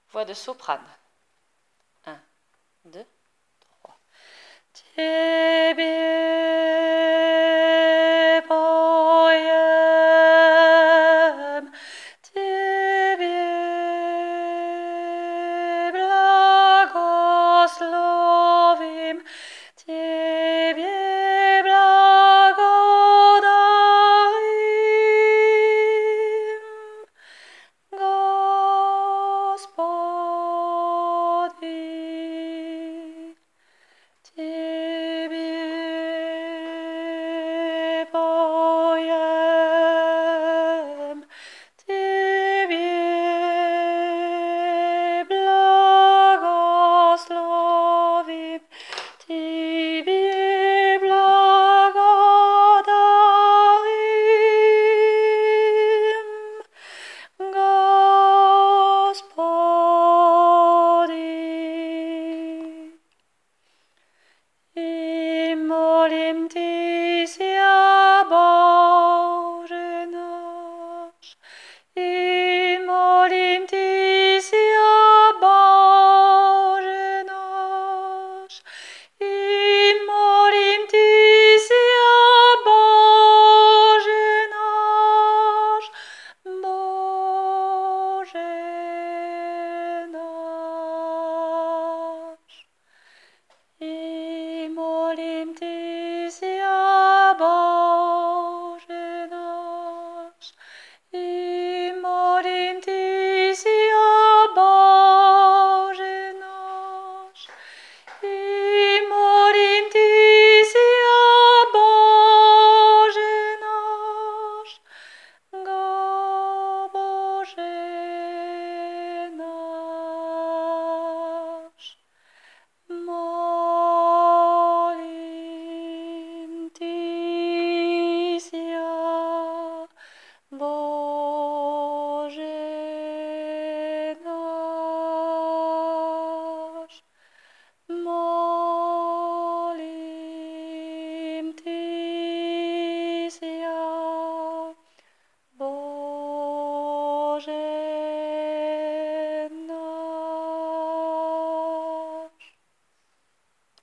Voix de soprane. 1, 2, 3. Ciebie bowiem, Ciebie błogosławim, Ciebie blagodarim, Господи, Тебе поем, Тебе благословим, Тебе благодарим, Господи. И молим Тися, Боже наш, и молим Тебя,